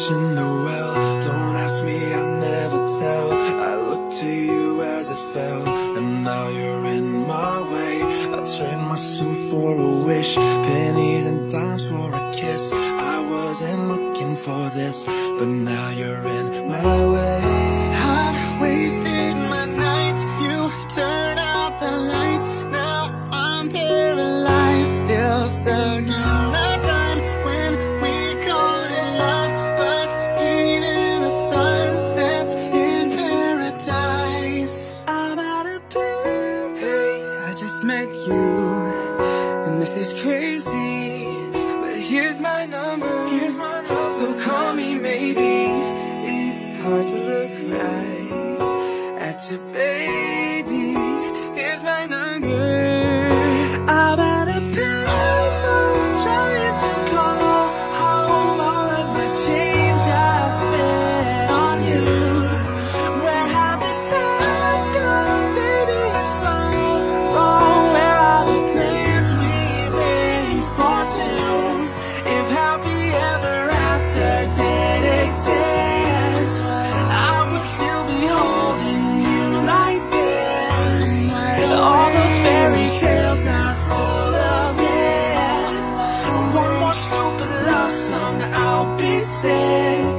in the well. Don't ask me, I'll never tell. I looked to you as it fell, and now you're in my way. I trade my suit for a wish, pennies and dimes for a kiss. I wasn't looking for this, but now you're in my way. I've wasted my nights, you turn out the lights. Now I'm paralyzed, still stuck in the time when we called it love. But even the sun sets in paradise. I'm out of breath. Hey, I just met you, and this is crazy, but here's my number, so call me maybe. It's hard to look right at your baby. Here's my number. I'm out of payphone, trying to call home all of my change I spent on you. Where have the times gone, baby? It's all wrong. Where are the plans we made for two? If happy ever after did exist, I would still be holding you like this. All those fairy tales are full of it. One more stupid love song, I'll be sick.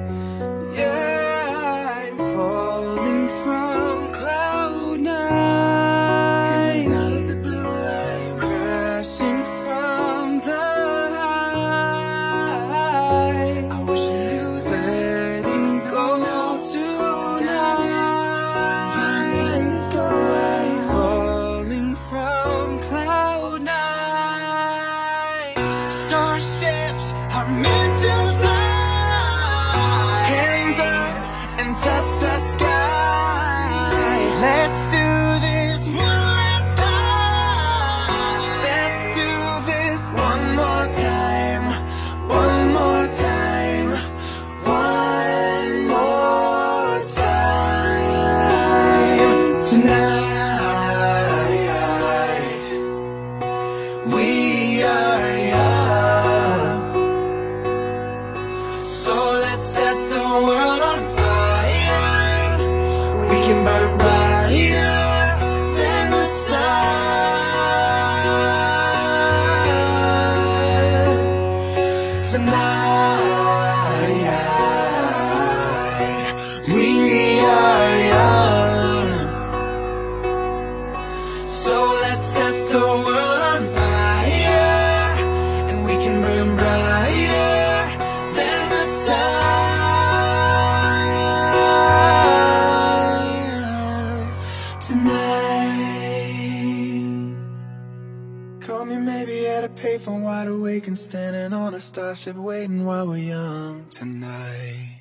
Yeah, I'm falling from cloud nine. Out of the blue, I'm crashing from the high. I wish you knew that. Letting go tonight. Falling from cloud nine. Starships are meant to fly. Hands up and touch the sky. Let's do this one last time. Let's do this one more time. One more time. One more time. Tonight we are young, so let's set the world on fire. We can burn brighter than the sun. Tonight we are young, so let's set the world on fire, and we can burn brighter than the sun. Tonight, call me maybe at a payphone, wide awake and standing on a starship, waiting while we're young. Tonight.